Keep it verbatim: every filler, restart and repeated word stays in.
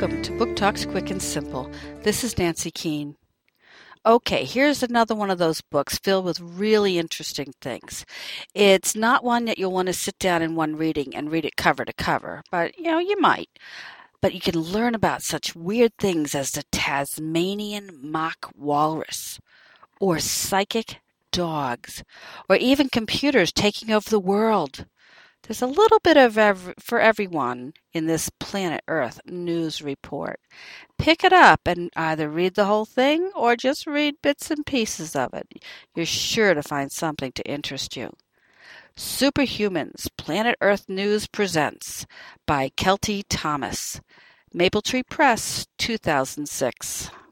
Welcome to Book Talks Quick and Simple. This is Nancy Keene. Okay, here's another one of those books filled with really interesting things. It's not one that you'll want to sit down in one reading and read it cover to cover, but, you know, you might. But you can learn about such weird things as the Tasmanian mock walrus, or psychic dogs, or even computers taking over the world. There's a little bit of ev- for everyone in this Planet Earth news report. Pick it up and either read the whole thing or just read bits and pieces of it. You're sure to find something to interest you. Superhumans, Planet Earth News presents by Kelty Thomas. Mapletree Press, two thousand six.